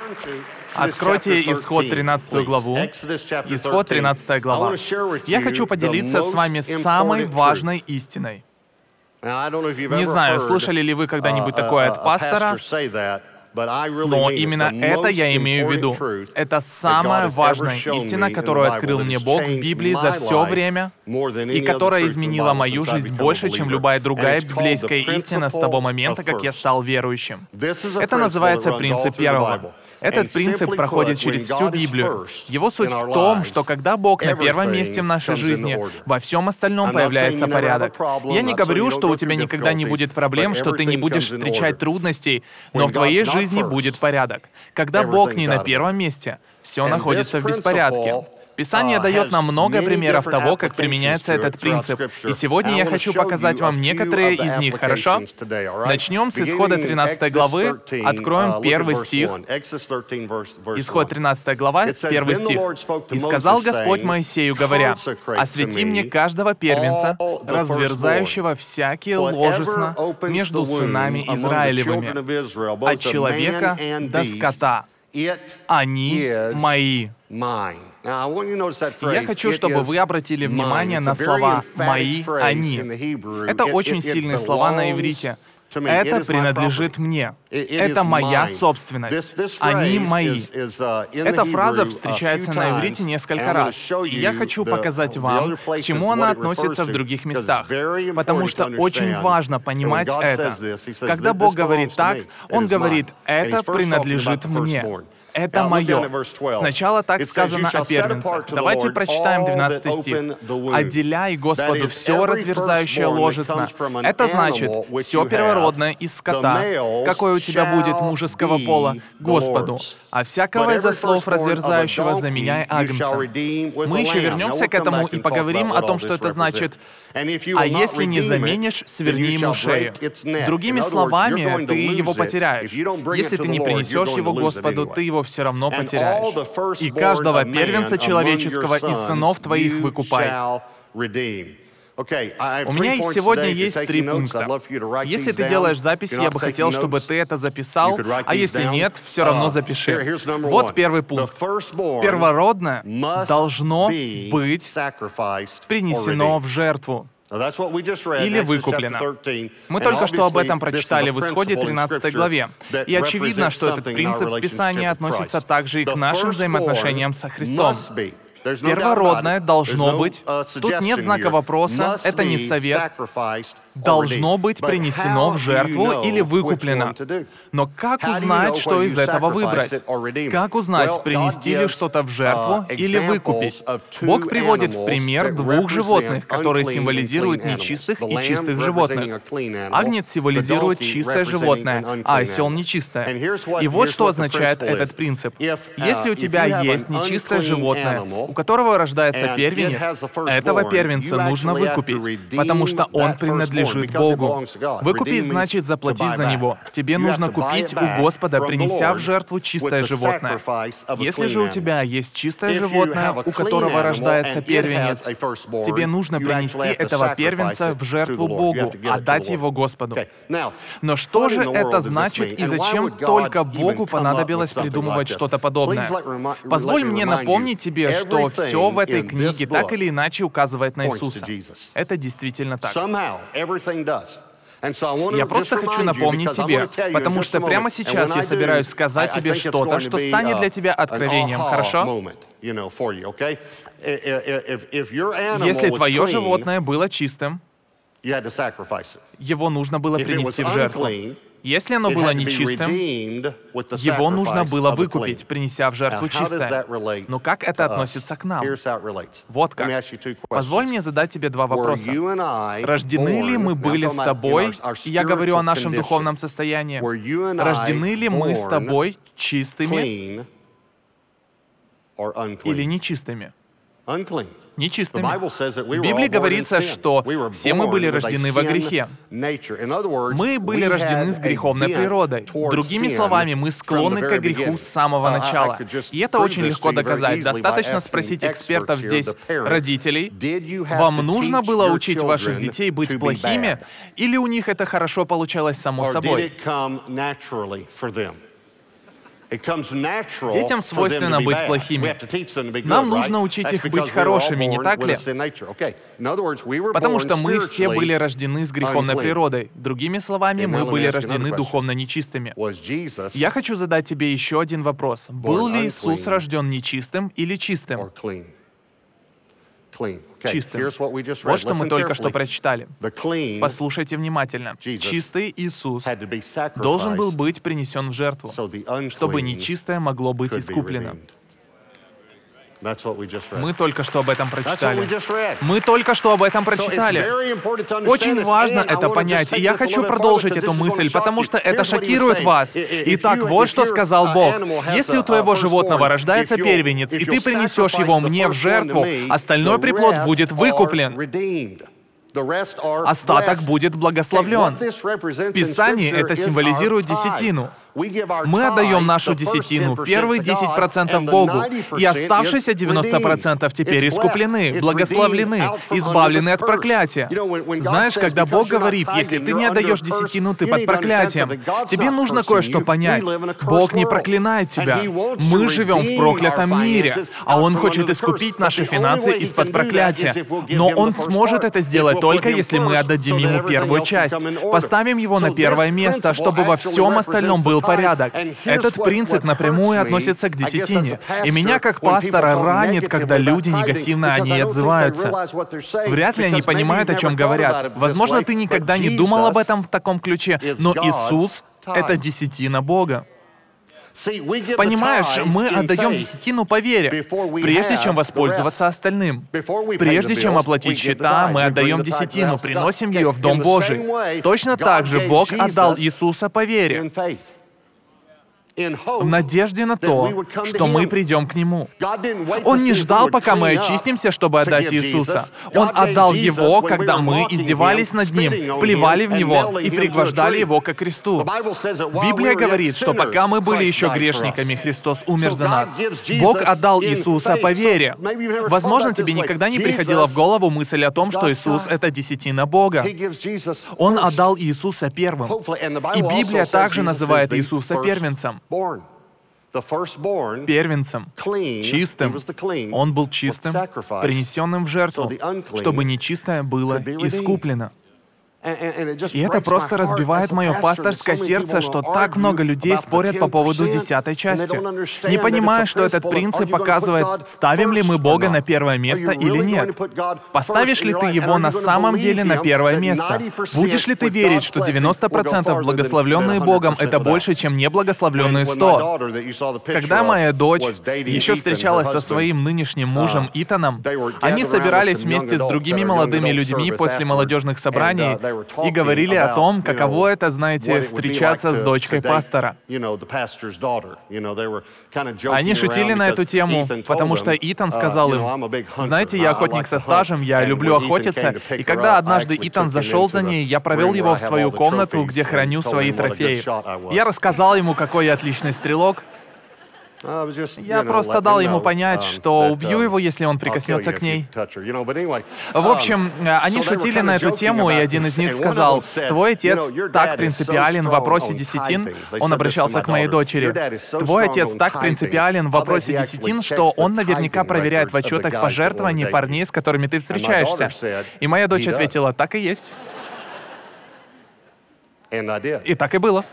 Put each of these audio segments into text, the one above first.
Откройте Исход 13 главу. Исход 13 глава. Я хочу поделиться с вами самой важной истиной. Не знаю, слышали ли вы когда-нибудь такое от пастора, но именно это я имею в виду. Это самая важная истина, которую открыл мне Бог в Библии за все время, и которая изменила мою жизнь больше, чем любая другая библейская истина с того момента, как я стал верующим. Это называется принцип первого. Этот принцип проходит через всю Библию. Его суть в том, что когда Бог на первом месте в нашей жизни, во всем остальном появляется порядок. Я не говорю, что у тебя никогда не будет проблем, что ты не будешь встречать трудностей, но в твоей жизни будет порядок. Когда Бог не на первом месте, все находится в беспорядке. Писание дает нам много примеров того, как применяется этот принцип. И сегодня я хочу показать вам некоторые из них, хорошо? Начнем с Исхода 13 главы, откроем первый стих. Исход 13 глава, первый стих. «И сказал Господь Моисею, говоря, освети мне каждого первенца, разверзающего всякие ложесно между сынами Израилевыми, от человека до скота. Они мои». Я хочу, чтобы вы обратили внимание на слова «мои», «они». Это очень сильные слова на иврите. Это принадлежит мне. Это моя собственность. Они мои. Эта фраза встречается на иврите несколько раз. И я хочу показать вам, к чему она относится в других местах. Потому что очень важно понимать это. Когда Бог говорит так, Он говорит «это принадлежит мне». Это мое. Сначала так сказано о первенцах. Давайте прочитаем 12 стих. «Отделяй Господу все разверзающее ложесно». Это значит, все первородное из скота, какое у тебя будет мужеского пола, Господу. А всякого из ослов разверзающего заменяй агнцем. Мы еще вернемся к этому и поговорим о том, что это значит. А если не заменишь, сверни ему шею. Другими словами, ты его потеряешь. Если ты не принесешь его Господу, ты его все равно потеряешь. И каждого первенца человеческого из сынов твоих выкупай. У меня сегодня есть 3 пункта. Если ты делаешь записи, я бы хотел, чтобы ты это записал, а если нет, все равно запиши. Вот первый пункт. Первородное должно быть принесено в жертву или выкуплено. Мы только что об этом прочитали в Исходе 13 главе. И очевидно, что этот принцип Писания относится также и к нашим взаимоотношениям со Христом. Первородное должно быть, тут нет знака вопроса, это не совет, должно быть принесено в жертву или выкуплено. Но как узнать, что из этого выбрать? Как узнать, принести ли что-то в жертву или выкупить? Бог приводит в пример 2 животных, которые символизируют нечистых и чистых животных. Агнец символизирует чистое животное, а осел — нечистое. И вот что означает этот принцип. Если у тебя есть нечистое животное, у которого рождается первенец, этого первенца нужно выкупить, потому что он принадлежит Богу. Выкупить значит заплатить за него. Тебе нужно купить у Господа, принеся в жертву чистое животное. Если же у тебя есть чистое животное, у которого рождается первенец, тебе нужно принести этого первенца в жертву Богу, отдать его Господу. Но что же это значит и зачем только Богу понадобилось придумывать что-то подобное? Позволь мне напомнить тебе, что все в этой книге так или иначе указывает на Иисуса. Это действительно так. Я просто хочу напомнить тебе, потому что прямо сейчас я собираюсь сказать тебе что-то, что станет для тебя откровением, хорошо? Если твое животное было чистым, его нужно было принести в жертву. Если оно было нечистым, его нужно было выкупить, принеся в жертву чистое. Но как это относится к нам? Вот как. Позволь мне задать тебе 2 вопроса. Рождены ли мы были с тобой, и я говорю о нашем духовном состоянии, рождены ли мы с тобой чистыми или нечистыми? Нечистыми. В Библии говорится, что все мы были рождены во грехе. Мы были рождены с греховной природой. Другими словами, мы склонны к греху с самого начала. И это очень легко доказать. Достаточно спросить экспертов здесь, родителей, вам нужно было учить ваших детей быть плохими, или у них это хорошо получалось само собой? Детям свойственно быть плохими. Нам нужно учить их быть хорошими, не так ли? Потому что мы все были рождены с греховной природой. Другими словами, мы были рождены духовно нечистыми. Я хочу задать тебе еще один вопрос. Был ли Иисус рожден нечистым или чистым? Чистым. Вот что мы только что прочитали. Послушайте внимательно. Чистый Иисус должен был быть принесен в жертву, чтобы нечистое могло быть искуплено. Мы только что об этом прочитали. Мы только что об этом прочитали. Очень важно это понять. И я хочу продолжить эту мысль, потому что это шокирует вас. Итак, вот что сказал Бог. Если у твоего животного рождается первенец, и ты принесешь его мне в жертву, остальной приплод будет выкуплен. Остаток будет благословлен. В Писании это символизирует десятину. Мы отдаем нашу десятину, первые 10% Богу, и оставшиеся 90% теперь искуплены, благословлены, избавлены от проклятия. Знаешь, когда Бог говорит, если ты не отдаешь десятину, ты под проклятием, тебе нужно кое-что понять. Бог не проклинает тебя. Мы живем в проклятом мире, а Он хочет искупить наши финансы из-под проклятия. Но Он сможет это сделать только если мы отдадим Ему первую часть. Поставим Его на первое место, чтобы во всем остальном был порядок. Этот принцип напрямую относится к десятине. И меня, как пастора, ранит, когда люди негативно о ней отзываются. Вряд ли они понимают, о чем говорят. Возможно, ты никогда не думал об этом в таком ключе, но Иисус — это десятина Бога. Понимаешь, мы отдаем десятину по вере, прежде чем воспользоваться остальным. Прежде чем оплатить счета, мы отдаем десятину, приносим ее в Дом Божий. Точно так же Бог отдал Иисуса по вере, в надежде на то, что мы придем к Нему. Он не ждал, пока мы очистимся, чтобы отдать Иисуса. Он отдал Его, когда мы издевались над Ним, плевали в Него и пригвождали Его ко кресту. Библия говорит, что пока мы были еще грешниками, Христос умер за нас. Бог отдал Иисуса по вере. Возможно, тебе никогда не приходила в голову мысль о том, что Иисус — это десятина Бога. Он отдал Иисуса первым. И Библия также называет Иисуса первенцем. Первенцем, чистым. Он был чистым, принесенным в жертву, чтобы нечистое было искуплено. И это просто разбивает мое пасторское сердце, что так много людей спорят по поводу 10-й части, не понимая, что этот принцип показывает, ставим ли мы Бога на первое место или нет. Поставишь ли ты Его на самом деле на первое место? Будешь ли ты верить, что 90% благословленные Богом — это больше, чем неблагословленные 100? Когда моя дочь еще встречалась со своим нынешним мужем Итаном, они собирались вместе с другими молодыми людьми после молодежных собраний и говорили о том, каково это, знаете, встречаться с дочкой пастора. Они шутили на эту тему, потому что Итан сказал им, «Знаете, я охотник со стажем, я люблю охотиться, и когда однажды Итан зашел за ней, я провел его в свою комнату, где храню свои трофеи. Я рассказал ему, какой я отличный стрелок. Я просто дал ему понять, что убью его, если он прикоснется к ней». В общем, они шутили на эту тему, и один из них сказал, «Твой отец так принципиален в вопросе десятин», он обращался к моей дочери, «Твой отец так принципиален в вопросе десятин, что он наверняка проверяет в отчетах пожертвований парней, с которыми ты встречаешься». И моя дочь ответила, «Так и есть». И так и было.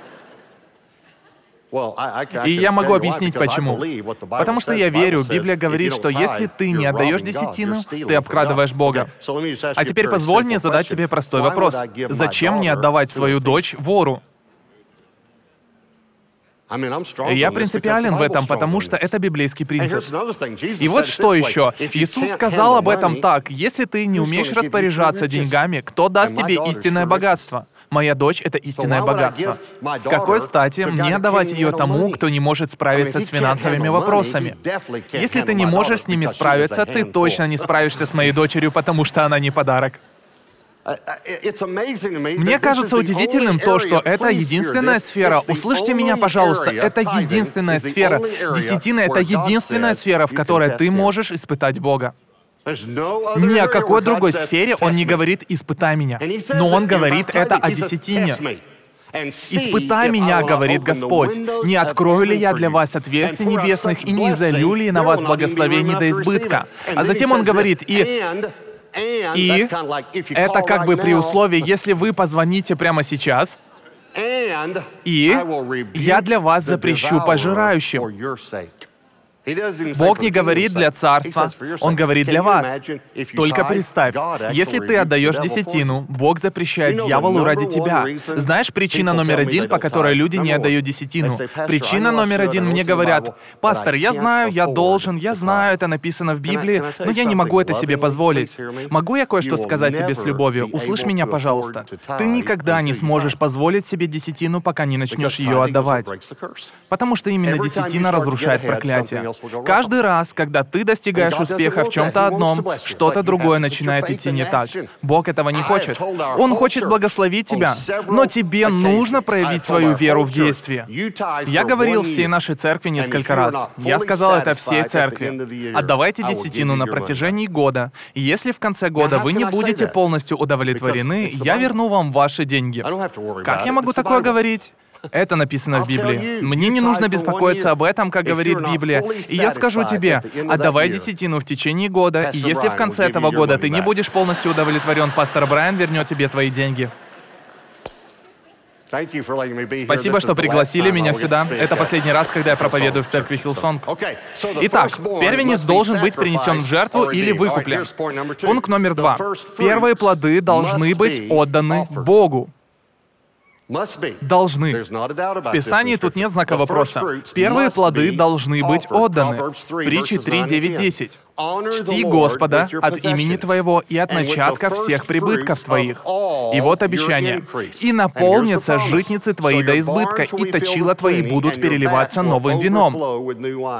И я могу объяснить, почему. Потому что я верю, Библия говорит, что если ты не отдаешь десятину, ты обкрадываешь Бога. А теперь позволь мне задать тебе простой вопрос. Зачем мне отдавать свою дочь вору? Я принципиален в этом, потому что это библейский принцип. И вот что еще. Иисус сказал об этом так. Если ты не умеешь распоряжаться деньгами, кто даст тебе истинное богатство? Моя дочь — это истинное богатство. С какой стати мне давать ее тому, кто не может справиться с финансовыми вопросами? Если ты не можешь с ними справиться, ты точно не справишься с моей дочерью, потому что она не подарок. Мне кажется удивительным то, что это единственная сфера. Услышьте меня, пожалуйста, это единственная сфера. Десятина — это единственная сфера, в которой ты можешь испытать Бога. Ни о какой другой сфере он не говорит «испытай меня», но он говорит это о десятине. «Испытай меня, говорит Господь, не открою ли я для вас отверстий небесных и не изолью ли на вас благословений до избытка». А затем он говорит, и это как бы при условии, если вы позвоните прямо сейчас, и я для вас запрещу пожирающим. Бог не говорит для царства, Он говорит для вас. Только представь, если ты отдаешь десятину, Бог запрещает дьяволу ради тебя. Знаешь, причина номер один, по которой люди не отдают десятину? Причина номер один, мне говорят: «Пастор, я знаю, я должен, я знаю, это написано в Библии, но я не могу это себе позволить». Могу я кое-что сказать тебе с любовью? Услышь меня, пожалуйста. Ты никогда не сможешь позволить себе десятину, пока не начнешь ее отдавать. Потому что именно десятина разрушает проклятие. Каждый раз, когда ты достигаешь успеха в чем-то одном, что-то другое начинает идти не так. Бог этого не хочет. Он хочет благословить тебя, но тебе нужно проявить свою веру в действии. Я говорил всей нашей церкви несколько раз. Я сказал это всей церкви. Отдавайте десятину на протяжении года, и если в конце года вы не будете полностью удовлетворены, я верну вам ваши деньги. Как я могу такое говорить? Это написано в Библии. Мне не нужно беспокоиться об этом, как говорит Библия. И я скажу тебе, отдавай десятину в течение года, и если в конце этого года ты не будешь полностью удовлетворен, пастор Брайан вернет тебе твои деньги. Спасибо, что пригласили меня сюда. Это последний раз, когда я проповедую в церкви Хиллсонг. Итак, первенец должен быть принесен в жертву или выкуплен. Пункт номер 2. Первые плоды должны быть отданы Богу. Должны. В Писании тут нет знака вопроса. Первые плоды должны быть отданы. Притчи 3:9-10. «Чти Господа от имени твоего и от начатка всех прибытков твоих». И вот обещание. «И наполнятся житницы твои до избытка, и точила твои будут переливаться новым вином».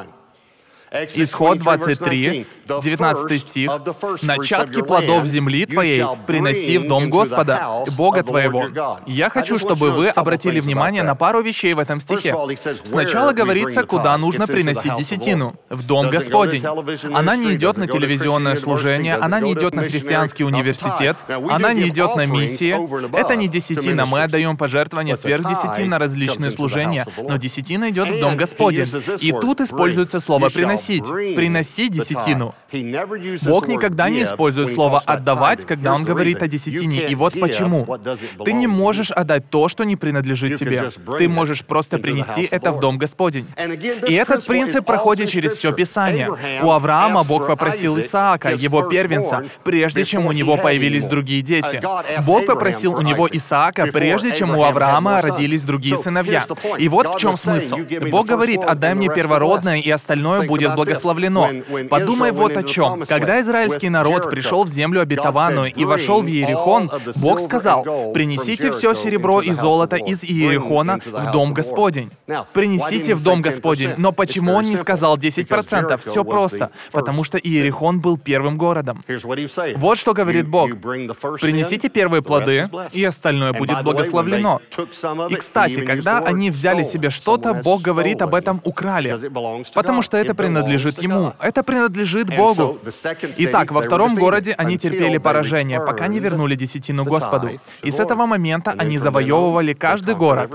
Исход 23, 19 стих. «Начатки плодов земли твоей приноси в дом Господа, Бога твоего». Я хочу, чтобы вы обратили внимание на пару вещей в этом стихе. Сначала говорится, куда нужно приносить десятину. В дом Господень. Она не идет на телевизионное служение, она не идет на христианский университет, она не идет на миссии. Это не десятина, мы отдаем пожертвования сверх десятин на различные служения, но десятина идет в дом Господень. И тут используется слово «приносить». Приноси десятину. Бог никогда не использует слово «отдавать», когда Он говорит о десятине. И вот почему. Ты не можешь отдать то, что не принадлежит тебе. Ты можешь просто принести это в дом Господень. И этот принцип проходит через все Писание. У Авраама Бог попросил Исаака, его первенца, прежде чем у него появились другие дети. Бог попросил у него Исаака, прежде чем у Авраама родились другие сыновья. И вот в чем смысл. Бог говорит: «Отдай мне первородное, и остальное будет благословлено». Подумай вот о чем. Когда израильский народ пришел в землю обетованную и вошел в Иерихон, Бог сказал: «Принесите все серебро и золото из Иерихона в дом Господень». Принесите в дом Господень. Но почему Он не сказал 10%? Все просто. Потому что Иерихон был первым городом. Вот что говорит Бог. Принесите первые плоды, и остальное будет благословлено. И, кстати, когда они взяли себе что-то, Бог говорит об этом украли. Потому что это принадлежит Ему. Это принадлежит Богу. Итак, во втором городе они терпели поражение, пока не вернули десятину Господу. И с этого момента они завоевывали каждый город.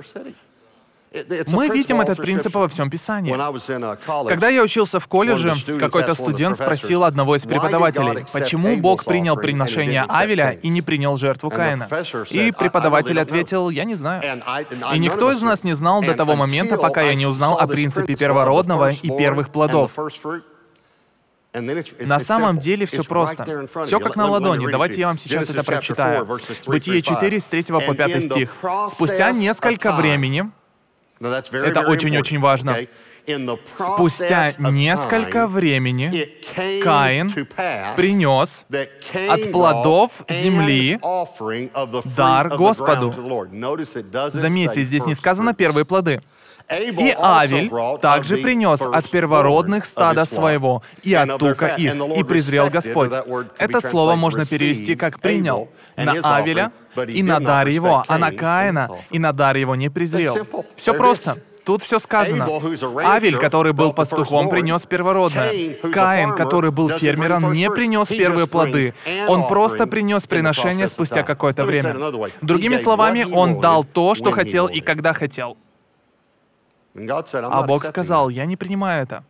Мы видим этот принцип во всем Писании. Когда я учился в колледже, какой-то студент спросил одного из преподавателей, почему Бог принял приношение Авеля и не принял жертву Каина. И преподаватель ответил: «Я не знаю». И никто из нас не знал до того момента, пока я не узнал о принципе первородного и первых плодов. На самом деле все просто. Все как на ладони. Давайте я вам сейчас это прочитаю. Бытие 4, с 3 по 5 стих. «Спустя несколько времени...» Это очень-очень важно. «Спустя несколько времени Каин принес от плодов земли дар Господу». Заметьте, здесь не сказано «первые плоды». «И Авель также принес от первородных стада своего, и от тука их, и презрел Господь». Это слово можно перевести как «принял» на Авеля и на дар его, а на Каина и на дар его не презрел. Все просто. Тут все сказано. Авель, который был пастухом, принес первородное. Каин, который был фермером, не принес первые плоды. Он просто принес приношение спустя какое-то время. Другими словами, он дал то, что хотел и когда хотел. А Бог сказал: «Я не принимаю это».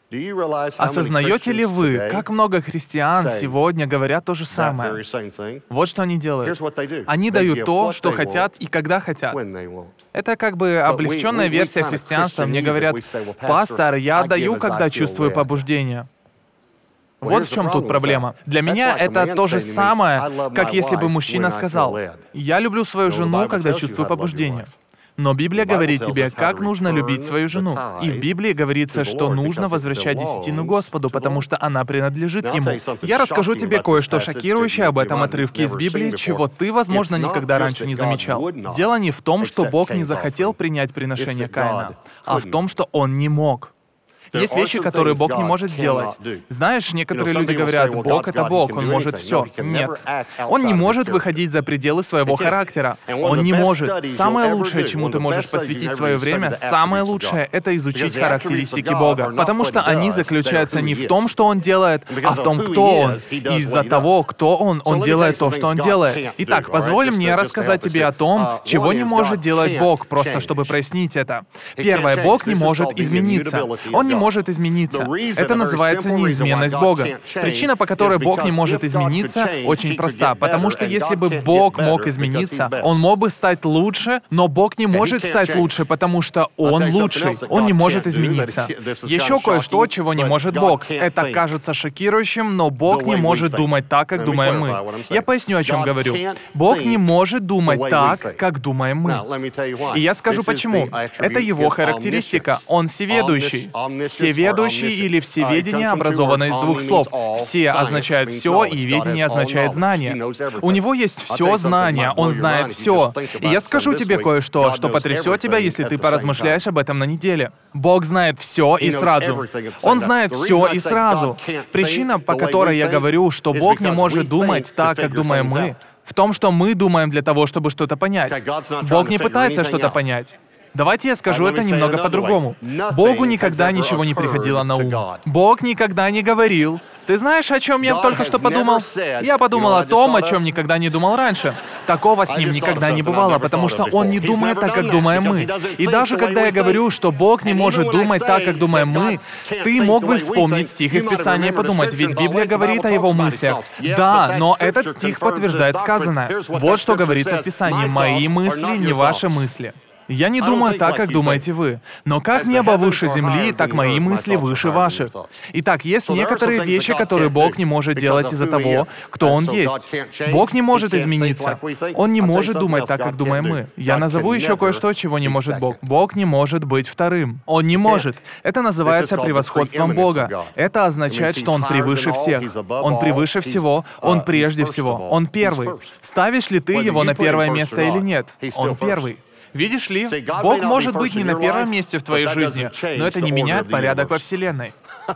Осознаете ли вы, как много христиан сегодня говорят то же самое? Вот что они делают. Они дают то, что хотят и когда хотят. Это как бы облегченная версия христианства. Мне говорят: «Пастор, я даю, когда чувствую побуждение». Вот в чем тут проблема. Для меня это то же самое, как если бы мужчина сказал: «Я люблю свою жену, когда чувствую побуждение». Но Библия говорит тебе, как нужно любить свою жену. И в Библии говорится, что нужно возвращать десятину Господу, потому что она принадлежит Ему. Я расскажу тебе кое-что шокирующее об этом отрывке из Библии, чего ты, возможно, никогда раньше не замечал. Дело не в том, что Бог не захотел принять приношение Каина, а в том, что Он не мог. Есть вещи, которые Бог не может сделать. Знаешь, некоторые люди говорят: «Бог — это Бог, Он может все». Нет. Он не может выходить за пределы своего характера. Он не может. Самое лучшее, чему ты можешь посвятить свое время, самое лучшее — это изучить характеристики Бога. Потому что они заключаются не в том, что Он делает, а в том, кто Он. И из-за того, кто Он делает то, что Он делает. Итак, позволь мне рассказать тебе о том, чего не может делать Бог, просто чтобы прояснить это. Первое, Бог не может измениться. Он не может измениться. Это называется неизменность Бога. Причина, по которой Бог не может измениться, очень проста. Потому что если бы Бог мог измениться, Он мог бы стать лучше, но Бог не может стать лучше, потому что Он лучший. Он не может измениться. Еще кое-что, чего не может Бог. Это кажется шокирующим, но Бог не может думать так, как думаем мы. Я поясню, о чем говорю. Бог не может думать так, как думаем мы. И я скажу почему. Это Его характеристика. Он всеведущий. Всеведущий или всеведение образовано из двух слов. «Все» означает «все», и «ведение» означает «знание». У Него есть все знание, Он знает все. И я скажу тебе кое-что, что потрясет тебя, если ты поразмышляешь об этом на неделе. Бог знает все и сразу. Он знает все и сразу. Причина, по которой я говорю, что Бог не может думать так, как думаем мы, в том, что мы думаем для того, чтобы что-то понять. Бог не пытается что-то понять. Давайте я скажу это немного по-другому. Богу никогда ничего не приходило на ум. Бог никогда не говорил: «Ты знаешь, о чем я только что подумал?» Я подумал о том, о чем никогда не думал раньше. Такого с Ним никогда не бывало, потому что Он не думает так, как думаем мы. И даже когда я говорю, что Бог не может думать так, как думаем мы, ты мог бы вспомнить стих из Писания и подумать, ведь Библия говорит о Его мыслях. Да, но этот стих подтверждает сказанное. Вот что говорится в Писании: «Мои мысли, не ваши мысли». Я не думаю так, как думаете вы. Но как небо выше земли, так мои мысли выше ваших. Итак, есть некоторые вещи, которые Бог не может делать из-за того, кто Он есть. Бог не может измениться. Он не может думать так, как думаем мы. Я назову еще кое-что, чего не может Бог. Бог не может быть вторым. Он не может. Это называется превосходством Бога. Это означает, что Он превыше всех. Он превыше всего. Он прежде всего. Он первый. Ставишь ли ты Его на первое место или нет? Он первый. Видишь ли, Бог может быть не на первом месте в твоей жизни, но это не меняет порядок во Вселенной.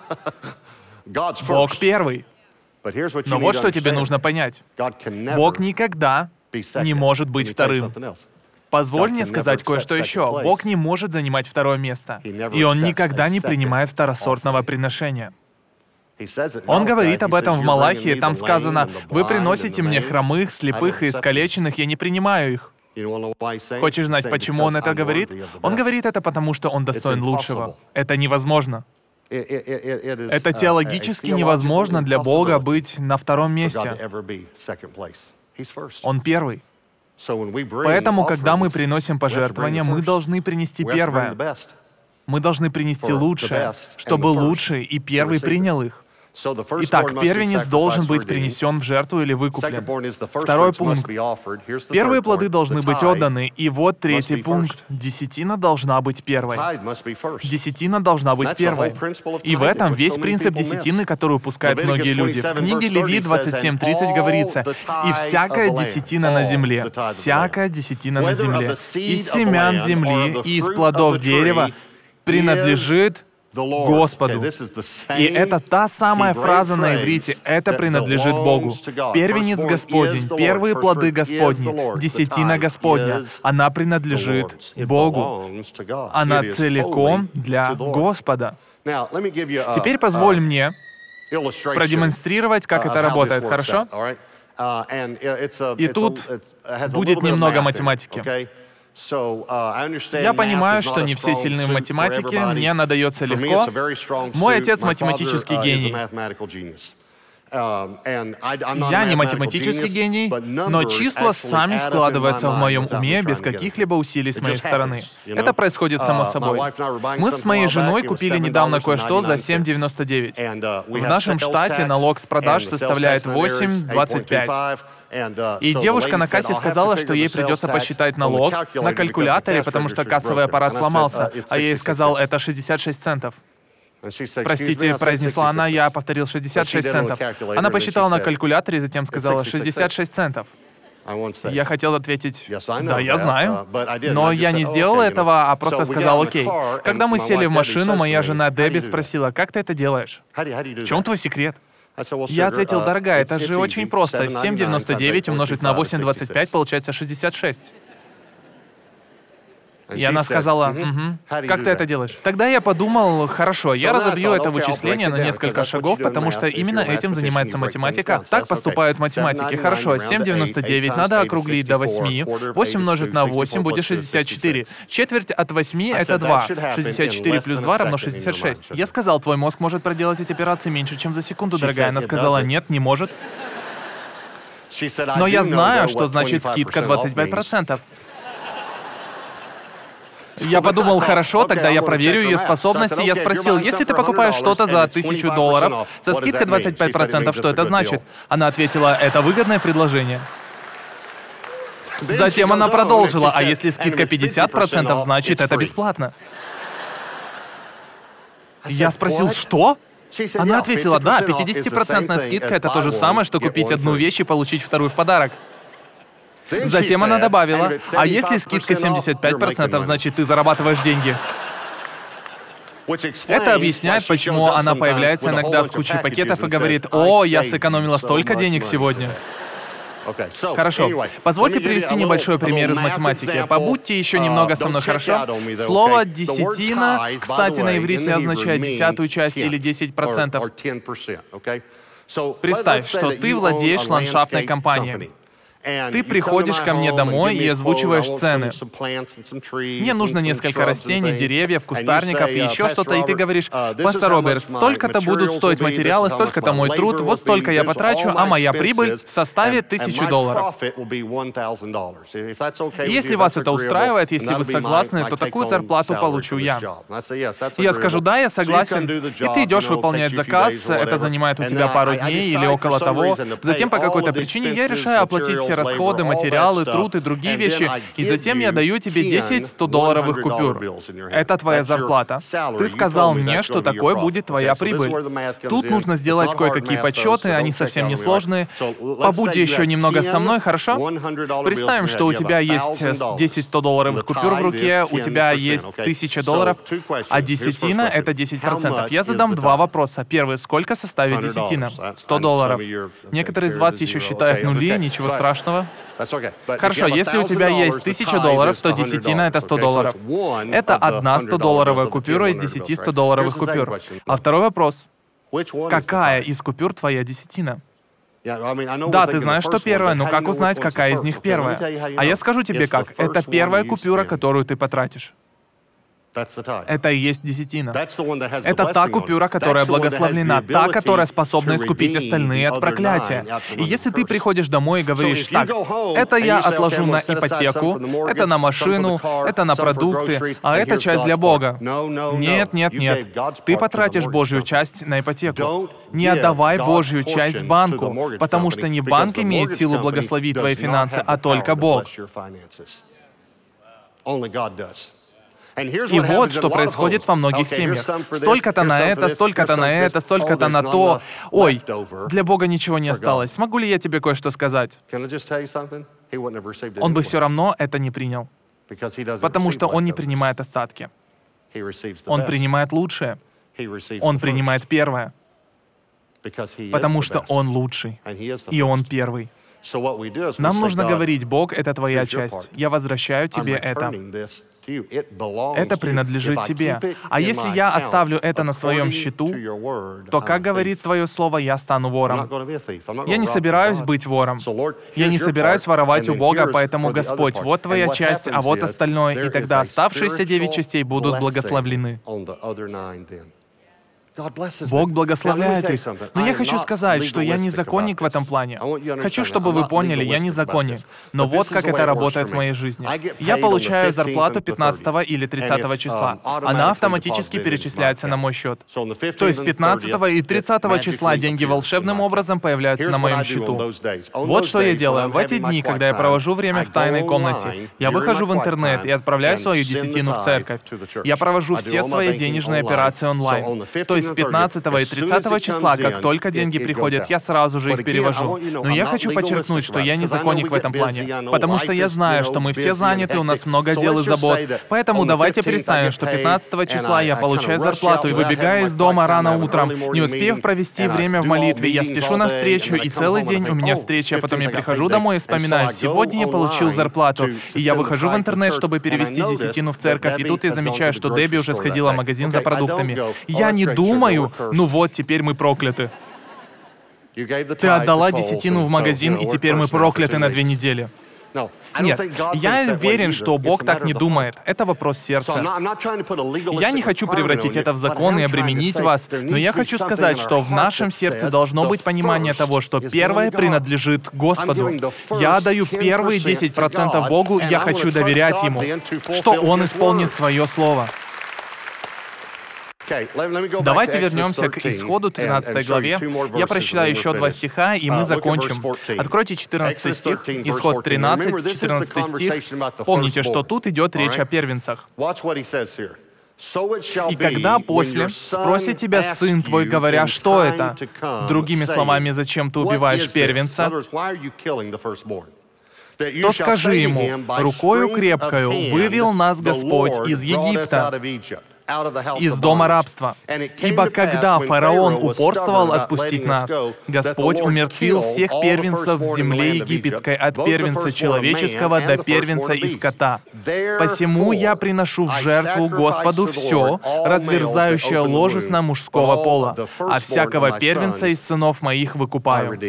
Бог первый. Но вот что тебе нужно понять. Бог никогда не может быть вторым. Позволь мне сказать кое-что еще. Бог не может занимать второе место. И Он никогда не принимает второсортного приношения. Он говорит об этом в Малахии. Там сказано: «Вы приносите мне хромых, слепых и искалеченных, я не принимаю их». Хочешь знать, почему Он это говорит? Он говорит это потому, что Он достоин лучшего. Это невозможно. Это теологически невозможно для Бога быть на втором месте. Он первый. Поэтому, когда мы приносим пожертвования, мы должны принести первое. Мы должны принести лучшее, чтобы лучший и первый принял их. Итак, первенец должен быть принесен в жертву или выкуплен. Второй пункт. Первые плоды должны быть отданы. И вот третий пункт. Десятина должна быть первой. Десятина должна быть первой. И в этом весь принцип десятины, который упускают многие люди. В книге Левит 27:30 говорится: «И всякая десятина на земле, всякая десятина на земле, из семян земли и из плодов дерева принадлежит Господу. И это та самая фраза на иврите «это принадлежит Богу». Первенец Господень, первые плоды Господни, десятина Господня. Она принадлежит Богу. Она целиком для Господа. Теперь позволь мне продемонстрировать, как это работает, хорошо? И тут будет немного математики. Я понимаю, что не все сильны в математике, мне она дается легко. Мой отец математический гений. Я не математический гений, но числа сами складываются в моем уме без каких-либо усилий с моей стороны. Это происходит само собой. Мы с моей женой купили недавно кое-что за $7.99. В нашем штате налог с продаж составляет 8.25. И девушка на кассе сказала, что ей придется посчитать налог на калькуляторе, потому что кассовый аппарат сломался, а я ей сказал, это 66 центов. Простите, произнесла она, я повторил 66 центов. Она посчитала на калькуляторе и затем сказала 66 центов. Я хотел ответить, да, я знаю. Но я не сделал этого, а просто сказал, окей. Когда мы сели в машину, моя жена Дебби спросила, как ты это делаешь? В чем твой секрет? Я ответил, дорогая, это же очень просто. 7,99 умножить на 8,25 получается 66. И она сказала, как ты это делаешь? Тогда я подумал, хорошо, я разобью это вычисление на несколько шагов, потому что именно этим занимается математика. Так поступают математики. Хорошо, 7,99 надо округлить до 8. 8 умножить на 8 будет 64. Четверть от 8 — это 2. 64 плюс 2 равно 66. Я сказал, твой мозг может проделать эти операции меньше, чем за секунду, дорогая. Она сказала, нет, не может. Но я знаю, что значит скидка 25%. Я подумал, хорошо, тогда я проверю ее способности. Я спросил, если ты покупаешь что-то за $1000 со скидкой 25%, что это значит? Она ответила, это выгодное предложение. Затем она продолжила, а если скидка 50%, значит это бесплатно. Я спросил, что? Она ответила, да, 50% скидка — это то же самое, что купить одну вещь и получить вторую в подарок. Затем она добавила, а если скидка 75%, значит, ты зарабатываешь деньги. Это объясняет, почему она появляется иногда с кучей пакетов и говорит, о, я сэкономила столько денег сегодня. Хорошо. Позвольте привести небольшой пример из математики. Побудьте еще немного со мной, хорошо? Слово «десятина», кстати, на иврите означает десятую часть или 10%. Представь, что ты владеешь ландшафтной компанией. Ты приходишь ко мне домой и озвучиваешь цены. Мне нужно несколько растений, деревьев, кустарников и еще что-то, и ты говоришь, пастор Роберт, столько-то будут стоить материалы, столько-то мой труд, вот столько я потрачу, а моя прибыль составит $1000. И если вас это устраивает, если вы согласны, то такую зарплату получу я. Я скажу, да, я согласен, и ты идешь выполнять заказ, это занимает у тебя пару дней или около того, затем по какой-то причине я решаю оплатить все расходы, материалы, труд и другие вещи, и затем я даю тебе 10 $100-долларовых купюр. Это твоя зарплата. Ты сказал мне, что такой будет твоя прибыль. Тут нужно сделать кое-какие подсчеты, они совсем не сложные. Побудьте еще немного со мной, хорошо? Представим, что у тебя есть 10 $100-долларовых купюр в руке, у тебя есть $1000, а десятина — это 10%. Я задам два вопроса. Первый, сколько составит десятина? $100. Некоторые из вас еще считают нули, ничего страшного. Хорошо, если у тебя есть $1000, то десятина — это $100. Это одна $100-долларовая купюра из 10 $100-долларовых купюр. А второй вопрос. Какая из купюр твоя десятина? Да, ты знаешь, что первая, но как узнать, какая из них первая? А я скажу тебе как. Это первая купюра, которую ты потратишь. Это и есть десятина. Это та купюра, которая благословлена, та, которая способна искупить остальные от проклятия. И если ты приходишь домой и говоришь, так, это я отложу на ипотеку, это на машину, это на продукты, а это часть для Бога. Нет, нет, нет. Ты потратишь Божью часть на ипотеку. Не отдавай Божью часть банку, потому что не банк имеет силу благословить твои финансы, а только Бог. И вот что происходит во многих семьях. Столько-то на это, столько-то на это, столько-то на то. Ой, для Бога ничего не осталось. Могу ли я тебе кое-что сказать? Он бы все равно это не принял, потому что он не принимает остатки. Он принимает лучшее. Он принимает первое, потому что Он лучший, и Он первый. Нам нужно говорить: Бог, это Твоя часть. Я возвращаю Тебе это. Это принадлежит Тебе. А если я оставлю это на своем счету, то, как говорит Твое Слово, я стану вором. Я не собираюсь быть вором. Я не собираюсь воровать у Бога, поэтому, Господь, вот Твоя часть, а вот остальное, и тогда оставшиеся 9 частей будут благословлены. Бог благословляет их. Но я хочу сказать, что я не законник в этом плане. Хочу, чтобы вы поняли, я не законник. Но вот как это работает в моей жизни. Я получаю зарплату 15 или 30 числа. Она автоматически перечисляется на мой счет. То есть 15 и 30 числа деньги волшебным образом появляются на моем счету. Вот что я делаю. В эти дни, когда я провожу время в тайной комнате, я выхожу в интернет и отправляю свою десятину в церковь. Я провожу все свои денежные операции онлайн. То есть 15 и 30 числа, как только деньги приходят, я сразу же их перевожу. Но я хочу подчеркнуть, что я не законник в этом плане, потому что я знаю, что мы все заняты, у нас много дел и забот. Поэтому давайте представим, что 15 числа я получаю зарплату и выбегаю из дома рано утром, не успев провести время в молитве, я спешу на встречу, и целый день у меня встреча, а потом я прихожу домой и вспоминаю: сегодня я получил зарплату, и я выхожу в интернет, чтобы перевести десятину в церковь, и тут я замечаю, что Дебби уже сходила в магазин за продуктами. Я не думаю: ну вот, теперь мы прокляты. Ты отдала десятину в магазин, и теперь мы прокляты на 2 недели. Нет, я уверен, что Бог так не думает. Это вопрос сердца. Я не хочу превратить это в закон и обременить вас, но я хочу сказать, что в нашем сердце должно быть понимание того, что первое принадлежит Господу. Я даю первые 10% Богу, и я хочу доверять Ему, что Он исполнит свое слово. Давайте вернемся к Исходу 13 главе. Я прочитаю еще 2 стиха, и мы закончим. Откройте 14 стих, Исход 13, 14 стих. Помните, что тут идет речь о первенцах. «И когда после спросит тебя сын твой, говоря, что это? Другими словами, зачем ты убиваешь первенца? То скажи ему: рукою крепкою вывел нас Господь из Египта, из дома рабства. Ибо когда фараон упорствовал отпустить нас, Господь умертвил всех первенцев в земле египетской, от первенца человеческого до первенца и скота. Посему я приношу в жертву Господу все, разверзающее ложесно мужского пола, а всякого первенца из сынов моих выкупаю».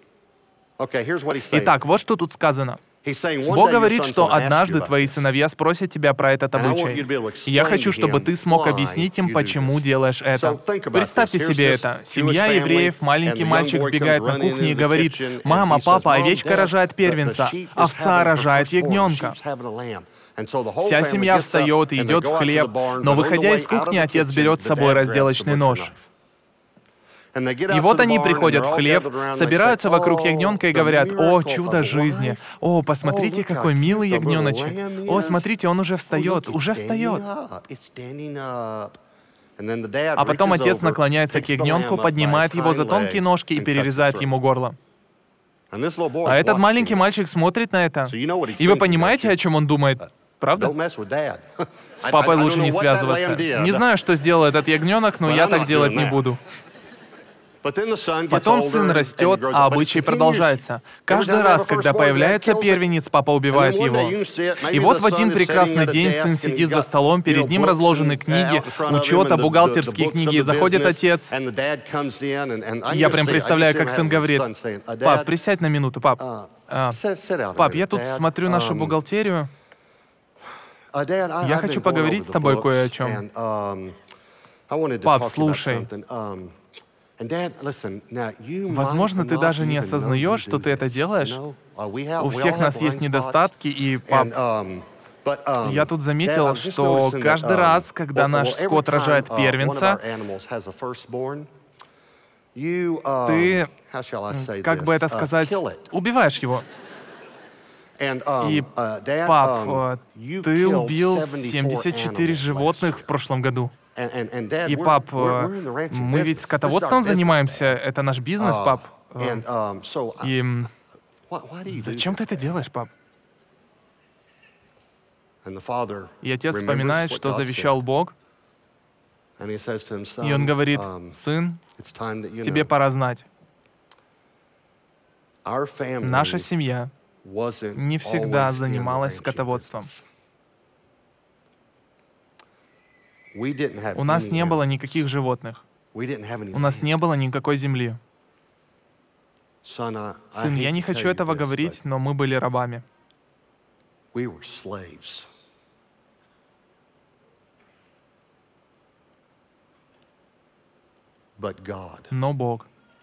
Итак, вот что тут сказано. Бог говорит, что однажды твои сыновья спросят тебя про этот обычай. И я хочу, чтобы ты смог объяснить им, почему делаешь это. Представьте себе это. Семья евреев, маленький мальчик вбегает на кухню и говорит: «Мама, папа, овечка рожает первенца, овца рожает ягненка». Вся семья встает и идет в хлеб, но, выходя из кухни, отец берет с собой разделочный нож. И вот они приходят в хлев, собираются вокруг ягненка и говорят: «О, чудо жизни! О, посмотрите, какой милый ягненочек! О, смотрите, он уже встает, уже встает!» А потом отец наклоняется к ягненку, поднимает его за тонкие ножки и перерезает ему горло. А этот маленький мальчик смотрит на это. И вы понимаете, о чем он думает? Правда? С папой лучше не связываться. Не знаю, что сделал этот ягненок, но я так делать не буду. Потом сын растет, а обычай продолжается. Каждый раз, когда появляется первенец, папа убивает его. И вот в один прекрасный день сын сидит за столом, перед ним разложены книги, учета, бухгалтерские книги, и заходит отец. Я прям представляю, как сын говорит: «Пап, присядь на минуту, пап. Пап, я тут смотрю нашу бухгалтерию. Я хочу поговорить с тобой кое о чем. Пап, слушай. Возможно, ты даже не осознаешь, что ты это делаешь. У всех нас есть недостатки, и, пап, я тут заметил, что каждый раз, когда наш скот рожает первенца, ты, как бы это сказать, убиваешь его. И, пап, ты убил 74 животных в прошлом году. И, пап, мы ведь скотоводством занимаемся, это наш бизнес, пап. И зачем ты это делаешь, пап?» И отец вспоминает, что завещал Бог. И он говорит: «Сын, тебе пора знать, наша семья не всегда занималась скотоводством. У нас не было никаких животных. У нас не было никакой земли. Сын, я не хочу этого говорить, но мы были рабами. Но Бог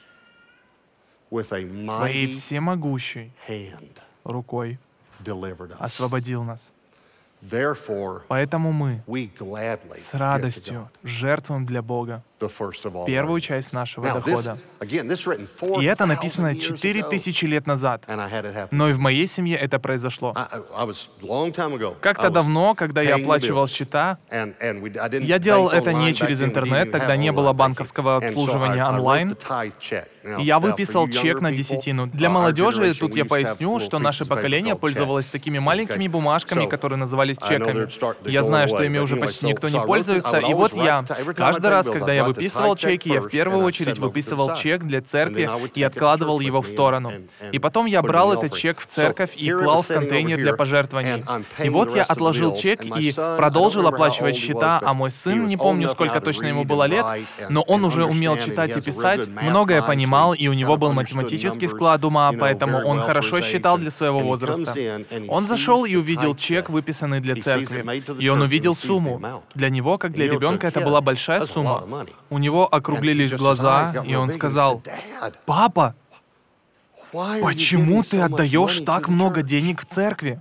своей всемогущей рукой освободил нас. Поэтому мы с радостью жертвуем для Бога первую часть нашего дохода. И это написано 4000 лет назад. Но и в моей семье это произошло. Как-то давно, когда я оплачивал счета, я делал это не через интернет, тогда не было банковского обслуживания онлайн. И я выписал чек на десятину. Для молодежи, тут я поясню, что наше поколение пользовалось такими маленькими бумажками, которые назывались чеками. Я знаю, что ими уже почти никто не пользуется. И вот я, каждый раз, когда я выписывал чеки, я в первую очередь выписывал чек для церкви и откладывал его в сторону. И потом я брал этот чек в церковь и клал в контейнер для пожертвований. И вот я отложил чек и продолжил оплачивать счета, а мой сын, не помню, сколько точно ему было лет, но он уже умел читать и писать, многое понимал, и у него был математический склад ума, поэтому он хорошо считал для своего возраста. Он зашел и увидел чек, выписанный для церкви, и он увидел сумму. Для него, как для ребенка, это была большая сумма. У него округлились глаза, и он сказал: «Папа, почему ты отдаешь так много денег в церкви?»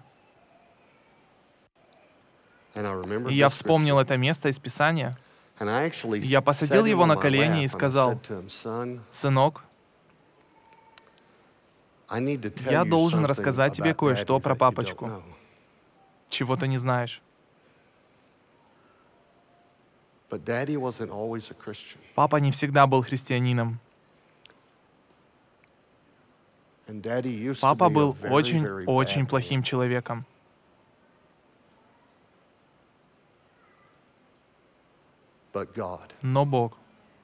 И я вспомнил это место из Писания. Я посадил его на колени и сказал: «Сынок, я должен рассказать тебе кое-что про папочку, чего ты не знаешь. Папа не всегда был христианином. Папа был очень плохим человеком. Но Бог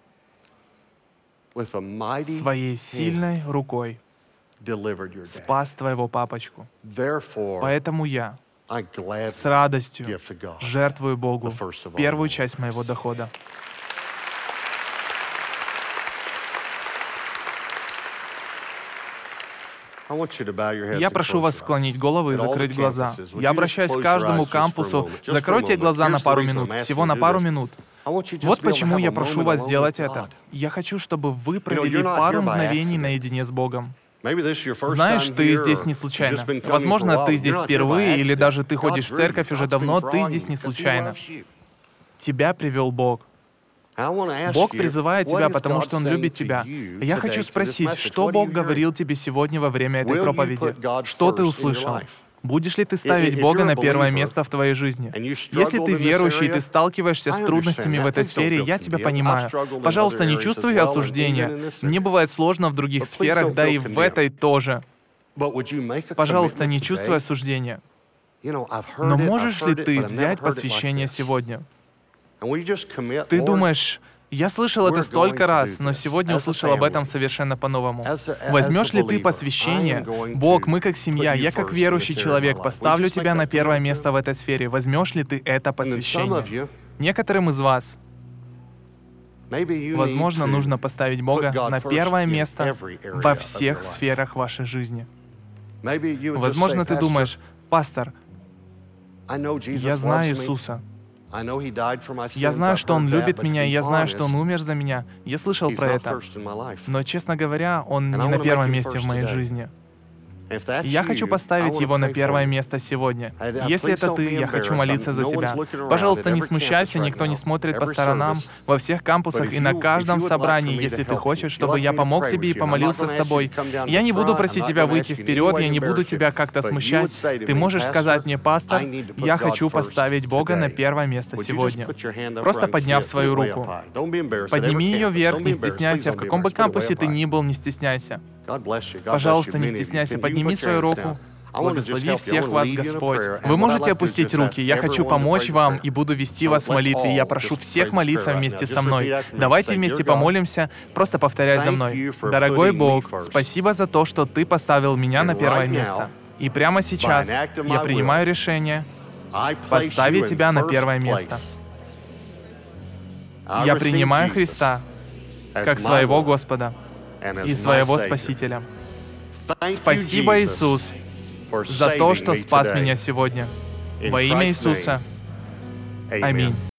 своей сильной рукой спас твоего папочку. Поэтому я с радостью жертвую Богу первую часть моего дохода. Я прошу вас склонить головы и закрыть глаза. Я обращаюсь к каждому кампусу. Закройте глаза на пару минут, всего на пару минут. Вот почему я прошу вас сделать это. Я хочу, чтобы вы провели пару мгновений наедине с Богом. Знаешь, ты здесь не случайно. Возможно, ты здесь впервые, или даже ты ходишь в церковь уже давно, ты здесь не случайно. Тебя привел Бог. Бог призывает тебя, потому что Он любит тебя. Я хочу спросить, что Бог говорил тебе сегодня во время этой проповеди? Что ты услышал? Будешь ли ты ставить Бога на первое место в твоей жизни? Если ты верующий, и ты сталкиваешься с трудностями в этой сфере, я тебя понимаю. Пожалуйста, не чувствуй осуждения. Мне бывает сложно в других сферах, да и в этой тоже. Пожалуйста, не чувствуй осуждения. Но можешь ли ты взять посвящение сегодня? Ты думаешь: я слышал это столько раз, но сегодня услышал об этом совершенно по-новому. Возьмешь ли ты посвящение? Бог, мы как семья, я как верующий человек поставлю тебя на первое место в этой сфере. Возьмешь ли ты это посвящение? Некоторым из вас, возможно, нужно поставить Бога на первое место во всех сферах вашей жизни. Возможно, ты думаешь: пастор, я знаю Иисуса. Я знаю, что Он любит меня, и я знаю, что Он умер за меня. Я слышал про это. Но, честно говоря, Он не на первом месте в моей жизни. Я хочу поставить Его на первое место сегодня. Если это ты, я хочу молиться за тебя. Пожалуйста, не смущайся, никто не смотрит по сторонам. Во всех кампусах и на каждом собрании, если ты хочешь, чтобы я помог тебе и помолился с тобой. Я не буду просить тебя выйти вперед, я не буду тебя как-то смущать. Ты можешь сказать мне: пастор, я хочу поставить Бога на первое место сегодня. Просто подняв свою руку. Подними ее вверх, не стесняйся. В каком бы кампусе ты ни был, не стесняйся. Пожалуйста, не стесняйся, подними свою руку. Благослови всех вас, Господь. Вы можете опустить руки. Я хочу помочь вам и буду вести вас в молитве. Я прошу всех молиться вместе со мной. Давайте вместе помолимся. Просто повторяй за мной. Дорогой Бог, спасибо за то, что Ты поставил меня на первое место. И прямо сейчас я принимаю решение поставить Тебя на первое место. Я принимаю Христа как своего Господа и своего Спасителя. Спасибо, Иисус, за то, что спас меня сегодня. Во имя Иисуса. Аминь.